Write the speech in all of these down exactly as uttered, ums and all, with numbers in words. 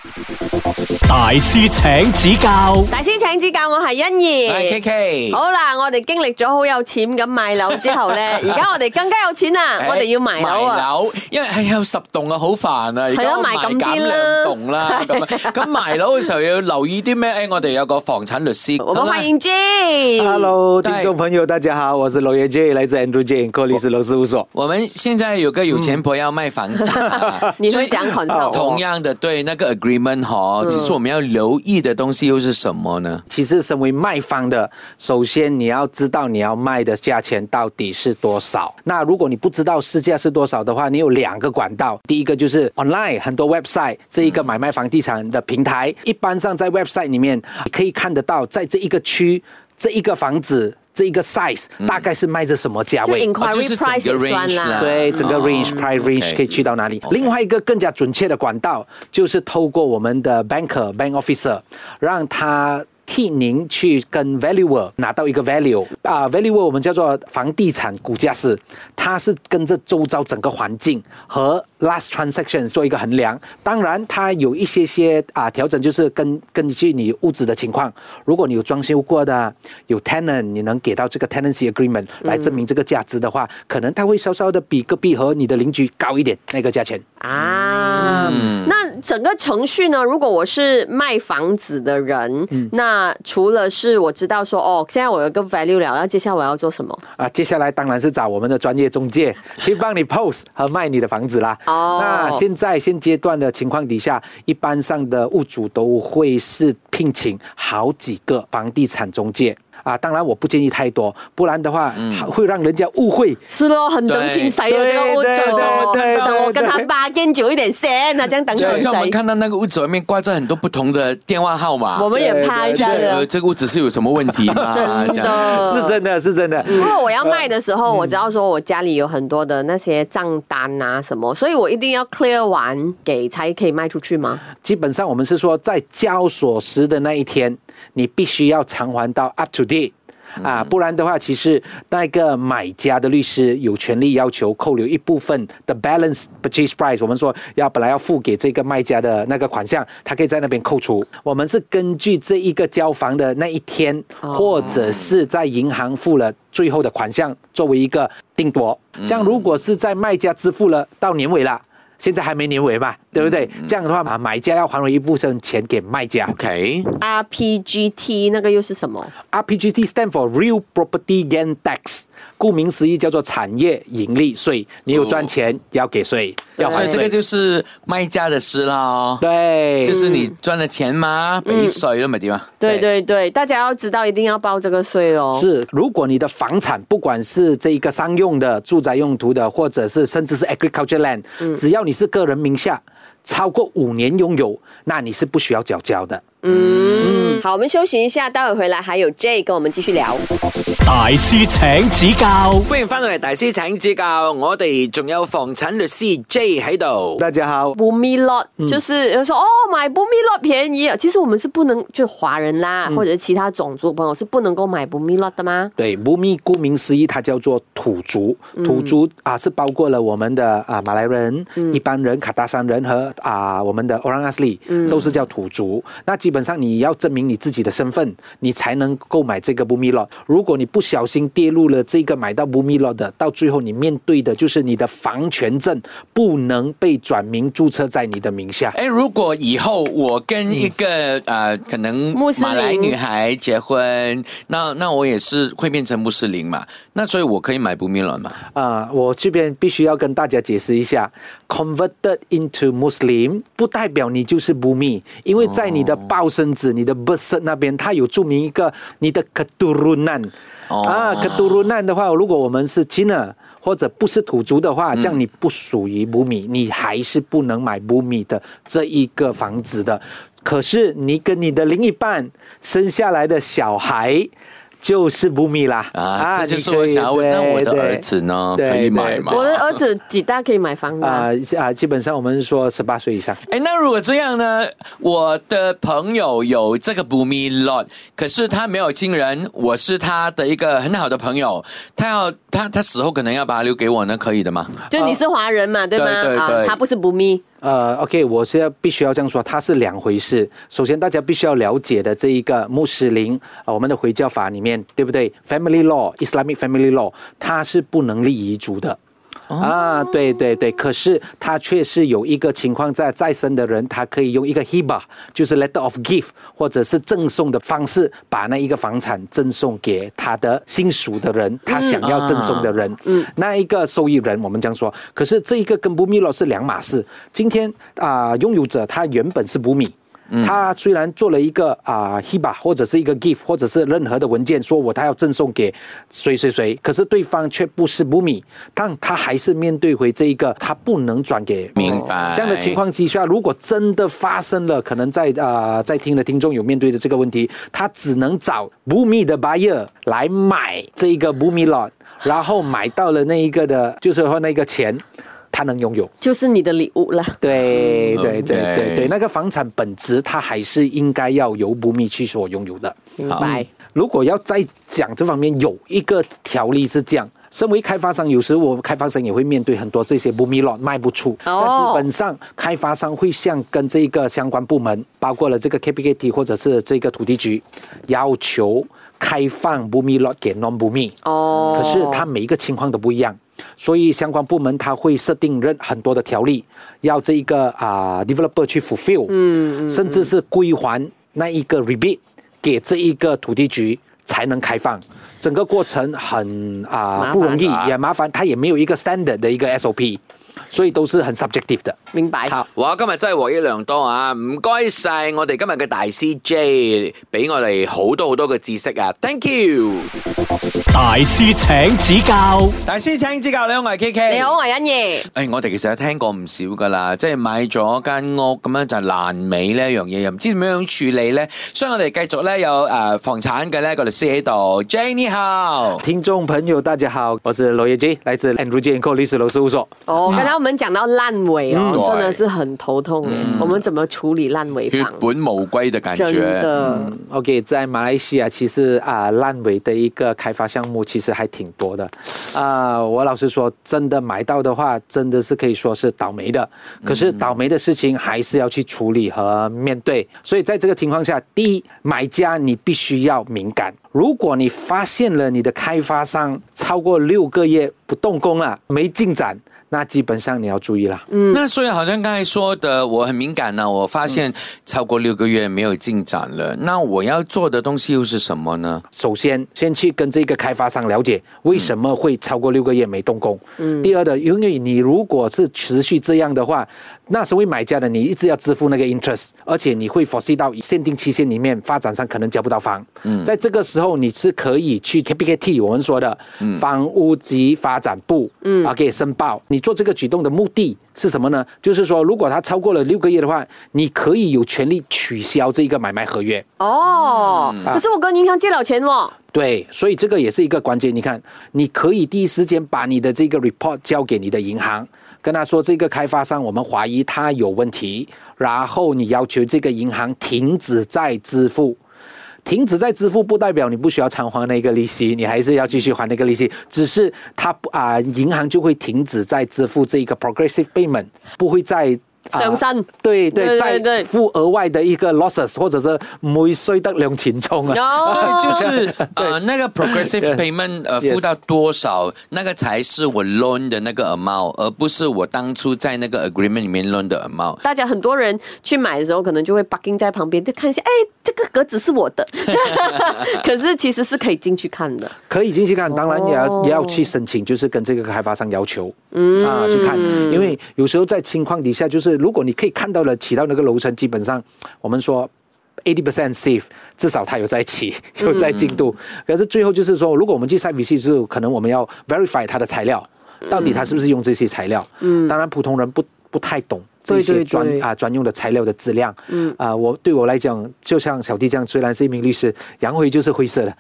大師請指教， 大師請指教，我係欣怡， 我係 K K。 好啦，我哋經歷咗好有錢咁買樓之後咧，而家我哋更加有錢啦，我哋要買樓啊！ 買樓，因為係有十棟啊，好煩啊！而家買咁啲兩棟啦，咁咁買樓嘅時候要留意啲咩？誒，我哋有個房產律師， 我們歡迎 J。Hello， 聽眾朋友，大家好，我是樓爺 J， 來自 Andrew J 柯律師樓事務所。 我們現在有個有錢婆要賣房子， 你會講 concept？ 同樣的，對那個 agreement 哈，其實我們要留意的東西又是什麼呢？ 其實身為賣方的，首先你要知道你要賣的價錢到底是多少。那如果你不知道市價是多少的話，你有兩個管道。第一個就是 online 很多 website 這一個買賣房地產的平台，一般上在 website 裡面可以看得到，在這一個區這一個房子這一個 size 大概是賣着什麼價位， 就 inquiry price 算啦， 對，整個 range、哦、price range 可以去到哪裡。Okay. 另外一個更加準確的管道，就是透過我們的 banker bank officer， 讓他替您去跟 valuer 拿到一個 value 啊、uh, valuer 我們叫做房地產估價師，他是跟着周遭整個環境和 last transaction 做一個衡量。當然他有一些些啊調整，就是根根據你屋子的情況，如果你有裝修過的，有 tenant， 你能給到這個 tenancy agreement 來證明這個價值的話，嗯、可能他會稍稍的比隔壁和你的鄰居高一點那個價錢啊、嗯。那整個程序呢，如果我是賣房子的人，嗯、那除了是我知道說哦，現在我有個 value 了，那接下來我要做什麼啊？接下來當然是找我們的專業中介去幫你 post 和賣你的房子啦。哦，那現在現階段的情況底下，一般上的屋主都會是聘請好幾個房地產中介。啊，當然我不建議太多，不然的話、嗯、會讓人家誤會。 是咯，很等錢使啊，這個屋主，等我跟他bargain久一點先，那這樣等錢使。 像我們看到那個屋子外面掛着很多不同的電話號碼， 我們也怕一下的。 這個屋子是有什麼問題嗎？ 真的， 是真的，是真的。 如果我要賣的時候，我知道說我家裡有很多的那些賬單啊什麼，所以我一定要 clear 完給才可以賣出去嗎？ 基本上我們是說，在交鎖匙的那一天，你必須要償還到 up to date。啊，不然的話，其實那個買家的律師有權利要求扣留一部分的 balance purchase price。我們說要本來要付給這個賣家的那個款項，他可以在那邊扣除。我們是根據這一個交房的那一天，或者是在銀行付了最後的款項作為一個定奪。這樣如果是在賣家支付了到年尾了，現在還沒年尾嘛，對不對？嗯、這樣的話，買家要還回一部分錢給賣家。 OK。R P G T 那個又是什麼 ？R P G T stand for Real Property Gain Tax， 顧名思義叫做產業盈利稅。你有賺錢、哦、要給稅，要還稅。 所以這個就是賣家的事啦。 對， 就是你賺了錢嘛，俾稅了嘛，對嗎？ 對對對，大家要知道一定要報這個稅哦。 是，如果你的房產不管是這一個商用的、住宅用途的，或者是甚至是 agriculture land，、嗯、只要你是個人名下，超過五年擁有，那你是不需要繳交的。 嗯，好，我們休息一下，待會回來還有 J 跟我們繼續聊。 大師請指教， 歡迎翻到嚟，大師請指教。我哋仲有房產律師 J 喺度。 大家好。 Bumi lot、嗯、就是有人說哦，買 Bumi lot 便宜，其實我們是不能，就華人啦、嗯，或者是其他種族朋友是不能夠買 Bumi lot 的嗎？ 對 ，Bumi 顧名思義，它叫做土族。土族、嗯、啊，是包括了我們的啊馬來人、嗯、一般人、卡達山人和啊我們的 Orang Asli，、嗯、都是叫土族。那基本上你要證明你自己的身份，你才能購買這個 Bumi lot。如果你不小心跌入了這個買到 Bumi lot 的，到最後你面對的就是你的房權證不能被轉名註冊在你的名下。 誒，如果以後我跟一個、嗯呃、可能馬來女孩結婚，那那我也是會變成穆斯林嘛？那所以我可以買 Bumi lot 嘛？ 啊、呃，我這邊必須要跟大家解釋一下 ，converted into Muslim 不代表你就是 Bumi， 因為在你的報生紙、你的 birth cert 那邊，它有注明一個你的 keturunan。Oh. 啊 keturunan 的話，如果我們是 Cina 或者不是土族的話，這樣你不屬於 Bumi， 你還是不能買 Bumi 的這一個房子的。可是你跟你的另一半生下來的小孩就是 Bumi 啦。 啊，這就是我想要問，那我的兒子呢，可以買嗎？ 我的兒子幾大可以買房子啊？ 啊，基本上我們說十八歲以上。 哎，那如果這樣呢？我的朋友有這個 Bumi lot，可是他沒有親人，我是他的一個很好的朋友，他要他他死後可能要把他留給我呢，可以的嗎？ 就你是華人嘛，對嗎？ 對對對， 他不是 Bumi。 呃 ，OK， 我是要必须要这样说，它是两回事。首先，大家必须要了解的这一个穆斯林，呃，我们的回教法里面，对不对 ？Family law，Islamic family law， 它是不能立遗嘱的。啊，对对对，可是他却是有一个情况在，在生的人，他可以用一个 hiba， 就是 letter of gift， 或者是赠送的方式，把那一个房产赠送给他的亲属的人，他想要赠送的人，嗯，那一个受益人，我们这样说。可是这一个跟不米洛是两码事。今天啊、呃，拥有者他原本是不米。他虽然做了一个啊、呃、hiba 或者是一个 gift 或者是任何的文件，说我他要赠送给谁谁谁，可是对方却不是不米，但他还是面对回这一个他不能转给。 明白。 这样的情况之下，如果真的发生了，可能在啊、呃、在听的听众有面对的这个问题，他只能找不米的 buyer 来买这一个不米 lot， 然后买到了那一个的，就是说那个钱。他能拥有， 就是你的礼物了。 对对对对对，那个房产本质它还是应该要由不密去所拥有的。 明白。 如果要再讲这方面，有一个条例是这样。身为开发商，有时我开发商也会面对很多这些不密 lot 卖不出，在基本上开发商会向跟这个相关部门，包括了这个 K P K T 或者是这个土地局，要求开放不密 lot 给 non 不密。哦。可是它每一个情况都不一样。所以相关部门他会设定任很多的条例，要这一个啊、呃、developer 去 fulfill， 嗯, 嗯，甚至是归还那一个 rebate 给这一个土地局才能开放。整个过程很啊、呃、不容易，也麻烦，他也没有一个 standard 的一个 S O P。所以都是很 subjective 的。 明白。 好，哇，今日真係獲益良多啊！唔該晒我哋今日嘅大師 J， 俾我哋好多好多嘅知識啊 ！Thank you。 大師請指教， 大師請指教。你好，我係 K K。 你好，我係欣怡。 誒，我哋其實有聽過唔少噶啦，即係買咗間屋咁樣就爛尾呢一樣嘢，又唔知點樣處理咧，所以我哋繼續咧有誒房產嘅呢個律師喺度。J 你好， 聽眾朋友大家好，我是羅業 J， 來自 Andrew J and Co 律師樓事務所。 哦，剛才我們講到爛尾哦、嗯，真的是很頭痛、嗯、我們怎麼處理爛尾房？ 血本無歸的感覺。 真的。 嗯、OK， 在馬來西亞其實啊，爛尾的一個開發項目其實還挺多的。啊、呃，我老實說，真的買到的話，真的是可以說是倒霉的。可是倒霉的事情還是要去處理和面對。所以在這個情況下，第一，買家你必須要敏感。如果你發現了你的開發商超過六個月不動工了，沒進展，那基本上你要注意了。 嗯，那所以好像剛才說的，我很敏感呢、啊，我發現超過六個月沒有進展了，那我要做的東西又是什麼呢？ 首先，先去跟這個開發商了解為什麼會超過六個月沒動工。嗯。第二的，因為你如果是持續這樣的話，那身為買家的你一直要支付那個 interest， 而且你會 foresee 到限定期限裡面發展商可能交不到房。嗯。在這個時候，你是可以去 K P K T 我們說的房屋及發展部，嗯，啊，可以申報。你做這個舉動的目的是什麼呢？就是說，如果它超過了六個月的話，你可以有權利取消這個買賣合約。 哦，可是我跟銀行借了錢哦。 對，所以這個也是一個關鍵。你看，你可以第一時間把你的這個 report 交給你的銀行，跟他說這個開發商我們懷疑他有問題，然後你要求這個銀行停止再支付。停止再支付不代表你不需要償還那個利息，你還是要繼續還那個利息，只是他啊、呃、銀行就會停止再支付這個 progressive payment， 不會再上升、呃， 對對，對對對，再付額外的一個 losses， 或者是每歲得兩錢鐘啊。 所以就是呃那個 progressive payment 呃付到多少，那個才是我 loan 的那個 amount， 而不是我當初在那個 agreement 裡面 loan 的 amount。大家很多人去買的時候，可能就會 parking 在旁邊，就看一下，哎，這個格子是我的，可是其實是可以進去看的， 可以進去看，當然也要、哦、也要去申請，就是跟這個開發商要求，嗯啊去看，因為有時候在情況底下，就是如果你可以看到了起到那個樓層，基本上我們說 eighty percent safe， 至少它有在起，有在進度、嗯。可是最後就是說，如果我們去 site visit 之後，可能我們要 verify 它的材料，到底它是不是用這些材料。嗯，當然普通人不不太懂這些專對對對啊專用的材料的質量。嗯啊，我對我來講，就像小弟這樣，雖然是一名律師，洋灰就是灰色的。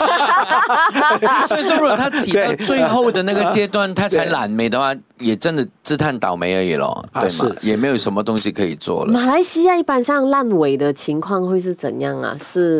所以說，如果他起到最後的那個階段，他才爛尾的話，也真的自嘆倒霉而已咯，對嗎？也沒有什麼東西可以做了。 馬來西亞一般上爛尾的情況會是怎樣啊？是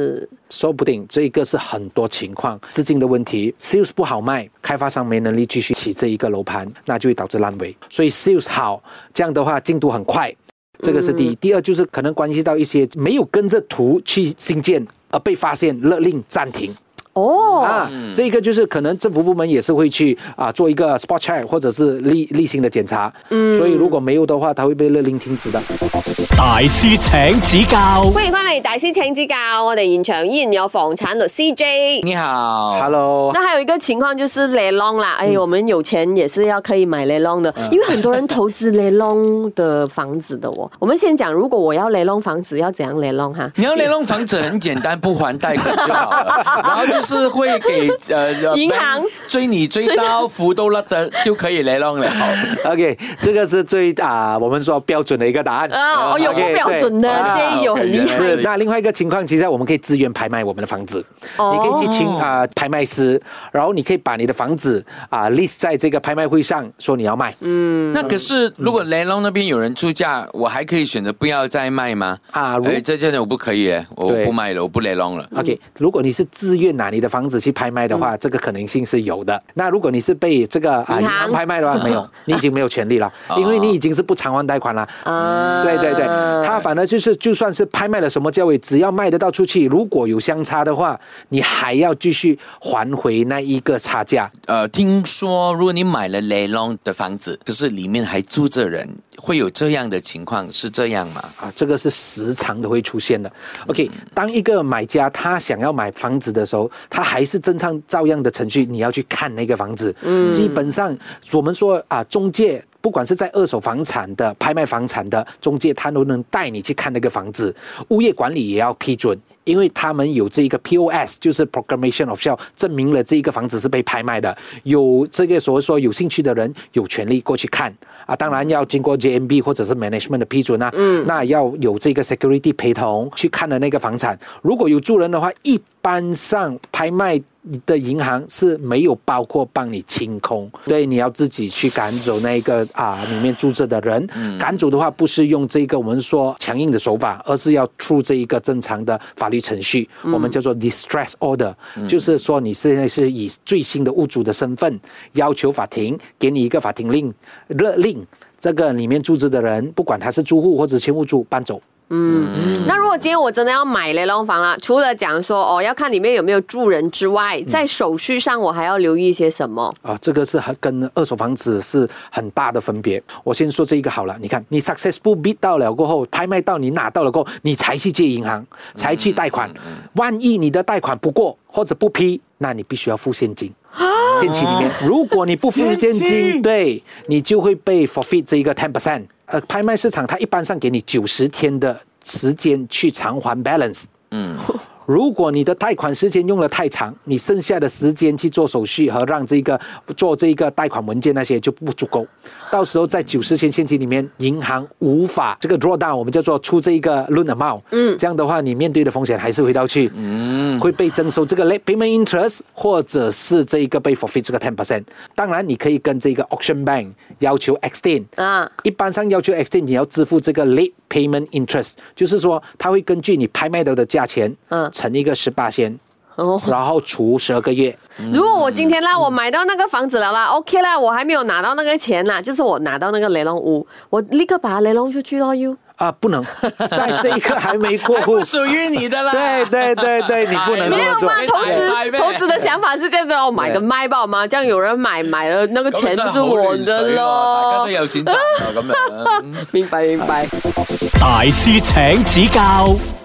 说不定这一个是很多情况资金的问题 ，sales 不好卖，开发商没能力继续起这一个楼盘，那就会导致烂尾。所以 sales 好，这样的话进度很快，这个是第一。第二就是可能关系到一些没有跟着图去新建而被发现勒令暂停。 哦， 啊，这个就是可能政府部门也是会去啊做一个 spot check 或者是例例行的检查，嗯，所以如果没有的话，它会被勒令停止的。 大師請指教， 歡迎翻嚟大師請指教，我哋現場依然有房產律師 J。 你好 ，Hello。 那還有一個情況就是 Lelong 啦，哎，我們有錢也是要可以買 Lelong 的，因為很多人投資 Lelong 的房子的哦。我們先講，如果我要 Lelong 房子，要怎樣 Lelong 哈？ 你要雷龙房子很简单，不还贷款就好了，然后就是会给呃银行追你追到福都了的就可以雷龙了。 OK， 这个是最啊我们说标准的一个答案。 啊，哦，有不标准的，这有很厲害。 是，那另外一個情況，其實我們可以自願拍賣我們的房子，哦、你可以去請啊、呃、拍賣師，然後你可以把你的房子啊、呃、list 在這個拍賣會上，說你要賣。 嗯，那可是如果雷龍那邊有人出價，我還可以選擇不要再賣嗎？啊，哎，這真的我不可以耶，我不賣了，我不雷龍了。 OK， 如果你是自願拿你的房子去拍賣的話，嗯、這個可能性是有的。那如果你是被這個啊銀行拍賣的話，沒有，你已經沒有權利了，因為你已經是不償還貸款了。啊，對對對，他反而就是就算是拍賣了什麼價位，只要賣得到出去，如果有相差的話，你還要繼續還回那一個差價。 呃，聽說如果你買了雷龍的房子，可是裡面還住着人，會有這樣的情況，是這樣嗎？ 啊，這個是時常都會出現的。OK，、嗯、當一個買家他想要買房子的時候，他還是正常照樣的程序，你要去看那個房子。嗯，基本上我們說啊，中介。不管是在二手房產的、拍賣房產的中介，他都能帶你去看那個房子。物業管理也要批准，因為他們有這個 P O S， 就是 Proclamation of Sale， 證明了這個房子是被拍賣的。有這個所謂說有興趣的人有權利過去看啊，當然要經過 J M B 或者是 Management 的批准啊。嗯，那要有這個 Security 陪同去看的那個房產。如果有住人的話，一般上拍賣的銀行是沒有包括幫你清空，對，你要自己去趕走那個啊裡面住着的人。嗯、趕走的話，不是用這個我們說強硬的手法，而是要出這一個正常的法律程序，嗯、我們叫做 distress order，、嗯、就是說你現在是以最新的屋主的身份要求法庭給你一個法庭令勒令，這個裡面住着的人，不管他是住戶或者前屋主搬走。 嗯，那如果今天我真的要買雷龍房啦，除了講說哦要看裡面有沒有住人之外，在手續上我還要留意一些什麼？啊， 這個是跟二手房子是很大的分別。我先說這一個好了，你看你 successful bid 到了過後，拍賣到你拿到了過後，你才去借銀行，才去貸款。萬一你的貸款不過或者不批，那你必須要付現金。現金裡面，如果你不付現金，對，你就會被 forfeit 這一個 ten percent。呃，拍賣市場它一般上給你九十天的時間去償還 balance。嗯，如果你的貸款時間用得太長，你剩下的時間去做手續和讓這個做這個貸款文件那些就不足夠。到時候在九十天現金裡面，銀行無法這個 draw down，我們叫做出這一個 loan amount。嗯，這樣的話，你面對的風險還是回到去，嗯，會被徵收這個 late payment interest，或者是這一個被 forfeit 這個 ten percent。當然，你可以跟這個 auction bank 要求 extend。啊，一般上要求 extend，你要支付這個 late payment interest，就是說，它會根據你拍賣到的價錢，嗯，乘一個十八仙。然後除十二個月。 如果我今天啦，我買到那個房子了啦 ，OK 啦，我還沒有拿到那個錢啦，就是我拿到那個雷龍屋，我立刻把它雷龍出去咯，又啊，不能，在這一刻還沒過戶， 不屬於你的啦。 對對對對，你不能這麼做。 沒有嘛，投資投資的想法是這樣的，我買個賣吧嘛，這樣有人買買了那個錢就是我的咯。 大家都有錢賺啊，咁樣。 明白明白。 大師請指教。